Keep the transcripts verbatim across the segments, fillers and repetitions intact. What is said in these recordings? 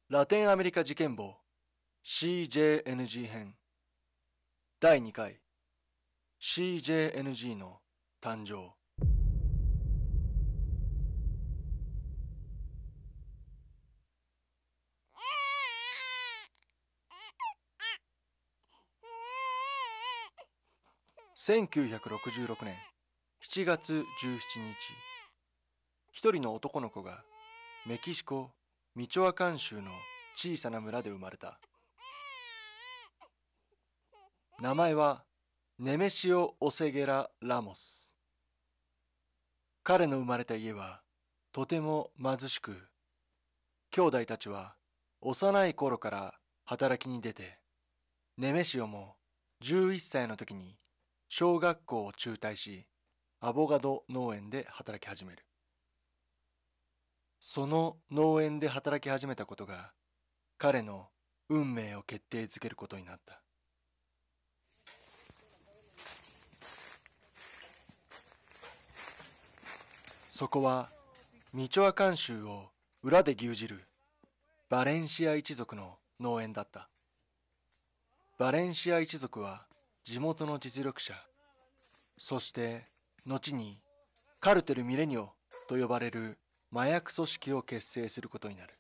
ラテンアメリカ事件簿 シージェーエヌジー 編だいにかい シージェーエヌジー の誕生。せんきゅうひゃくろくじゅうろくねんしちがつじゅうしちにち、一人の男の子がメキシコ・ミチョアカン州の小さな村で生まれた。名前はネメシオ・オセゲラ・ラモス。彼の生まれた家はとても貧しく、兄弟たちは幼い頃から働きに出て、ネメシオもじゅういっさいの時に小学校を中退し、アボガド農園で働き始める。その農園で働き始めたことが彼の運命を決定づけることになった。そこはミチョアカン州を裏で牛耳るバレンシア一族の農園だった。バレンシア一族は地元の実力者、そして後にカルテル・ミレニオと呼ばれる麻薬組織を結成することになる。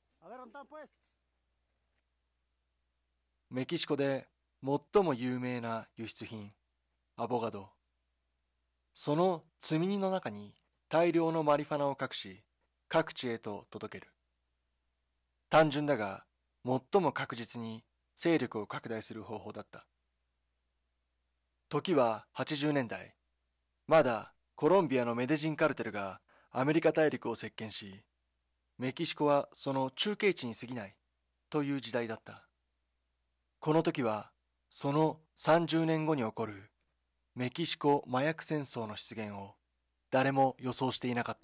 メキシコで最も有名な輸出品、アボガド。その積み荷の中に大量のマリファナを隠し、各地へと届ける。単純だが、最も確実に勢力を拡大する方法だった。時ははちじゅうねんだい。まだコロンビアのメデジンカルテルがアメリカ大陸を席巻し、メキシコはその中継地に過ぎないという時代だった。この時はそのさんじゅうねんごに起こるメキシコ麻薬戦争の出現を誰も予想していなかった。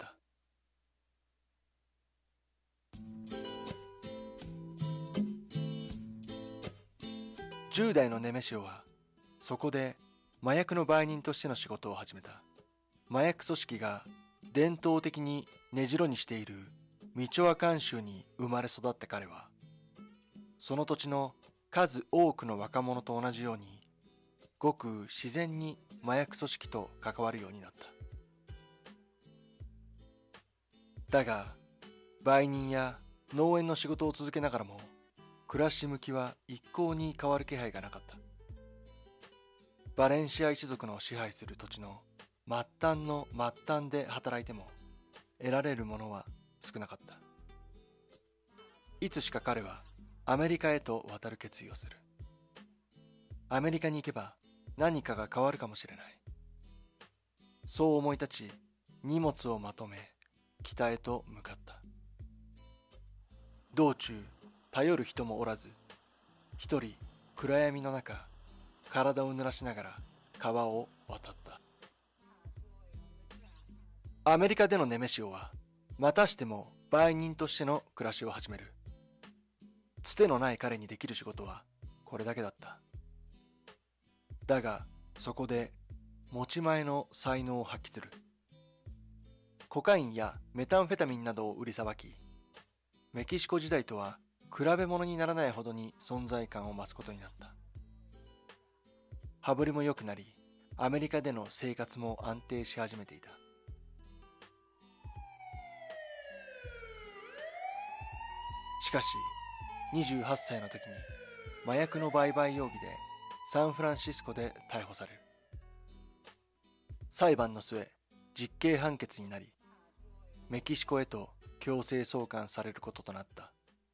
じゅうだいのネメシオはそこで麻薬の売人としての仕事を始めた。麻薬組織が伝統的に根城にしているミチョアカン州に生まれ育った彼は、その土地の数多くの若者と同じようにごく自然に麻薬組織と関わるようになった。だが売人や農園の仕事を続けながらも暮らし向きは一向に変わる気配がなかった。バレンシア一族の支配する土地の末端の末端で働いても得られるものは少なかった。いつしか彼はアメリカへと渡る決意をする。アメリカに行けば何かが変わるかもしれない。そう思い立ち、荷物をまとめ北へと向かった。道中頼る人もおらず、一人暗闇の中体を濡らしながら川を渡った。アメリカでのネメシオはまたしても売人としての暮らしを始める。つてのない彼にできる仕事はこれだけだった。だがそこで持ち前の才能を発揮する。コカインやメタンフェタミンなどを売りさばき、メキシコ時代とは比べ物にならないほどに存在感を増すことになった。羽振りも良くなり、アメリカでの生活も安定し始めていた。しかしにじゅうはっさいの時に麻薬の売買容疑でサンフランシスコで逮捕される。裁判の末、実刑判決になり、メキシコへと強制送還されることとなった。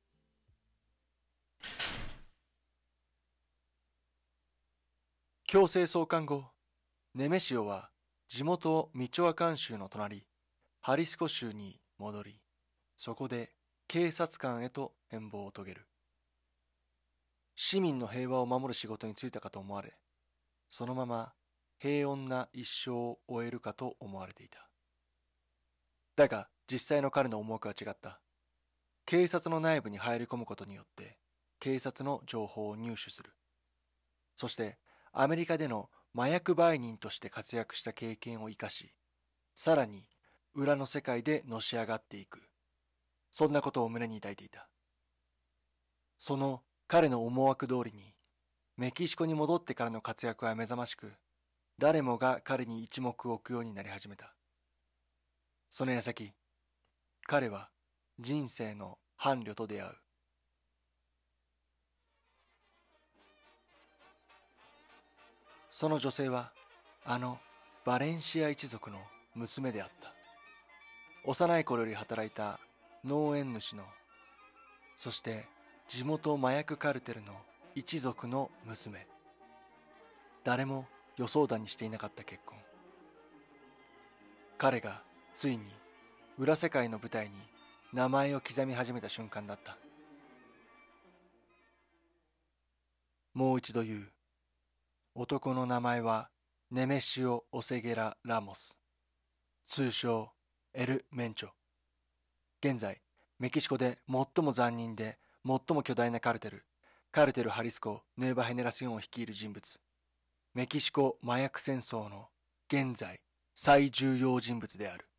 強制送還後、ネメシオは地元ミチョアカン州の隣、ハリスコ州に戻り、そこで警察官へと変貌を遂げる。市民の平和を守る仕事に就いたかと思われ、そのまま平穏な一生を終えるかと思われていた。だが実際の彼の思惑は違った。警察の内部に入り込むことによって警察の情報を入手する。そしてアメリカでの麻薬売人として活躍した経験を生かし、さらに裏の世界でのし上がっていく。そんなことを胸に抱いていた。 その彼の思惑通りにメキシコに戻ってからの活躍は目覚ましく、誰もが彼に一目置くようになり始めた。その矢先、彼は人生の伴侶と出会う。その女性はあのバレンシア一族の娘であった。幼い頃より働いた農園主の、そして地元麻薬カルテルの一族の娘。誰も予想だにしていなかった結婚。彼がついに裏世界の舞台に名前を刻み始めた瞬間だった。もう一度言う。男の名前はネメシオ・オセゲラ・ラモス、通称エル・メンチョ。現在メキシコで最も残忍で最も巨大なカルテル、カルテル・ハリスコ・ヌエバ・ヘネラシオンを率いる人物、メキシコ麻薬戦争の現在最重要人物である。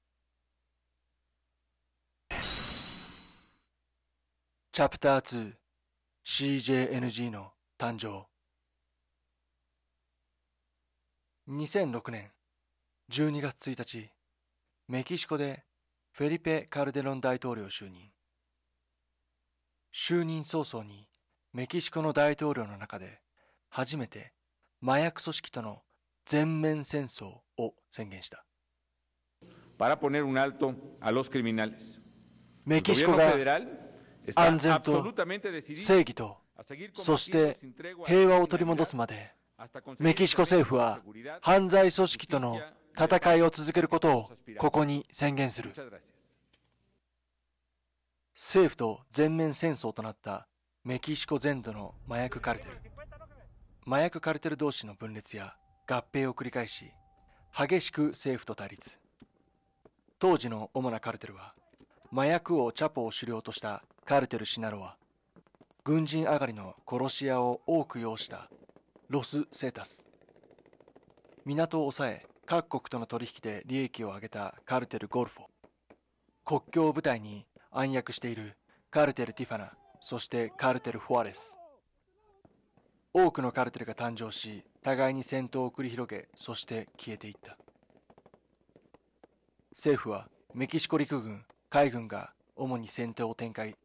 チャプターツー シージェーエヌジー の誕生。にせんろくねんじゅうにがつついたち、メキシコでフェリペ・カルデロン大統領就任。就任早々にメキシコの大統領の中で初めて麻薬組織との全面戦争を宣言した。 para poner un alto a los criminales. メキシコが安全と正義と、そして平和を取り戻すまで、メキシコ政府は犯罪組織との戦いを続けることをここに宣言する。政府と全面戦争となったメキシコ全土の麻薬カルテル。麻薬カルテル同士の分裂や合併を繰り返し、激しく政府と対立。当時の主なカルテルは、麻薬王チャポを首領としたカルテルシナロア、軍人上がりの殺し屋を多く擁したロス・セータス、港を抑え各国との取引で利益を上げたカルテル・ゴルフォ、国境を舞台に暗躍しているカルテル・ティファナ、そしてカルテル・フォアレス。多くのカルテルが誕生し、互いに戦闘を繰り広げ、そして消えていった。政府はメキシコ陸軍、海軍が主に戦闘を展開。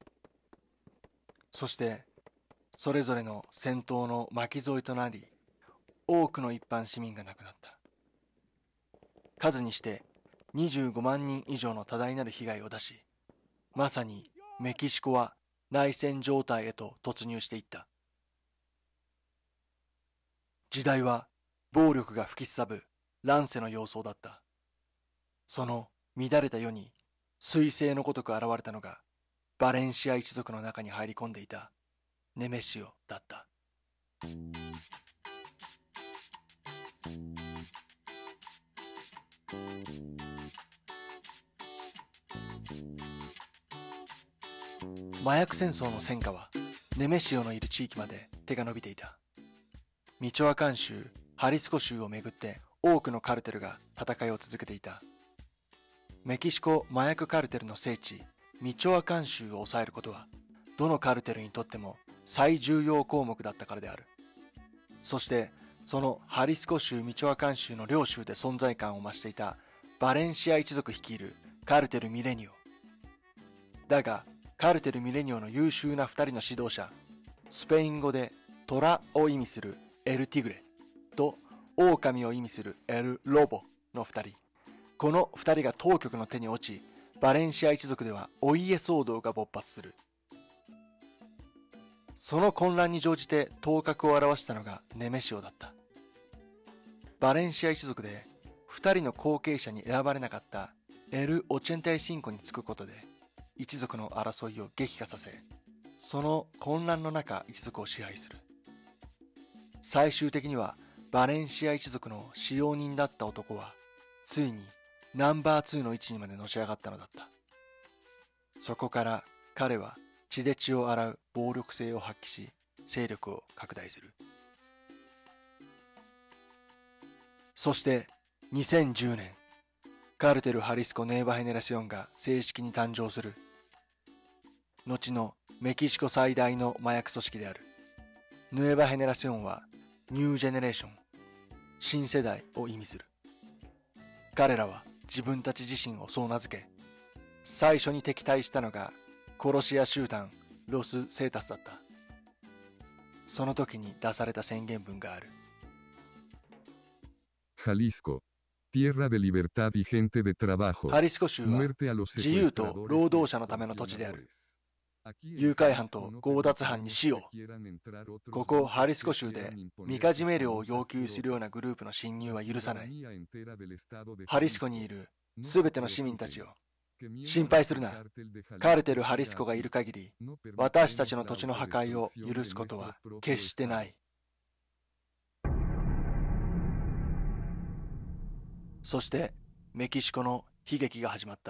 そしてそれぞれの戦闘の巻き添えとなり、多くの一般市民が亡くなった。数にしてにじゅうごまんにん以上の多大なる被害を出し、まさにメキシコは内戦状態へと突入していった。時代は暴力が吹きすさぶ乱世の様相だった。その乱れた世に彗星のごとく現れたのが、バレンシア一族の中に入り込んでいたネメシオだった。麻薬戦争の戦火はネメシオのいる地域まで手が伸びていた。ミチョアカン州、ハリスコ州をめぐって多くのカルテルが戦いを続けていた。メキシコ麻薬カルテルの聖地、ミチョアカン州を抑えることは、どのカルテルにとっても最重要項目だったからである。そして、そのハリスコ州、ミチョアカン州の両州で存在感を増していたバレンシア一族率いるカルテルミレニオ。だが、カルテルミレニオの優秀な二人の指導者、スペイン語で虎を意味するエル・ティグレと狼を意味するエル・ロボの二人。この二人が当局の手に落ち、バレンシア一族ではお家騒動が勃発する。その混乱に乗じて頭角を現したのがネメシオだった。バレンシア一族で二人の後継者に選ばれなかったエル・オチェンタイシンコにつくことで、一族の争いを激化させ、その混乱の中一族を支配する。最終的にはバレンシア一族の使用人だった男はついにナンバーツーの位置にまでのし上がったのだった。そこから彼は血で血を洗う暴力性を発揮し、勢力を拡大する。そしてにせんじゅうねん、カルテル・ハリスコ・ネーバ・ヘネラシオンが正式に誕生する。後のメキシコ最大の麻薬組織である。ヌエバ・ヘネラシオンはニュージェネレーション、新世代を意味する。彼らは自分たち自身をそう名付け、最初に敵対したのが殺し屋集団ロス・セータスだった。その時に出された宣言文がある。 Jalisco, tierra de libertad y gente de trabajo. ハリスコ州は自由と労働者のための土地である。誘拐犯と強奪犯に死を。ここハリスコ州でみかじめ料を要求するようなグループの侵入は許さない。ハリスコにいるすべての市民たちを心配するな。カルテルハリスコがいる限り、私たちの土地の破壊を許すことは決してない。そしてメキシコの悲劇が始まった。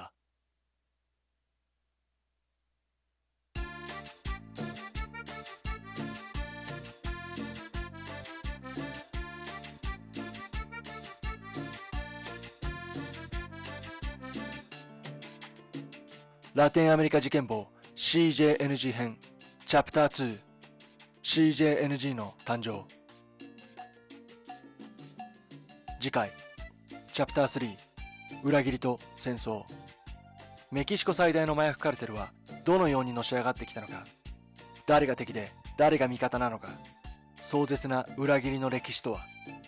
ラテンアメリカ事件簿 シージェーエヌジー 編チャプターツー シージェーエヌジー の誕生。次回チャプタースリー裏切りと戦争。メキシコ最大の麻薬カルテルはどのようにのし上がってきたのか。誰が敵で誰が味方なのか。壮絶な裏切りの歴史とは。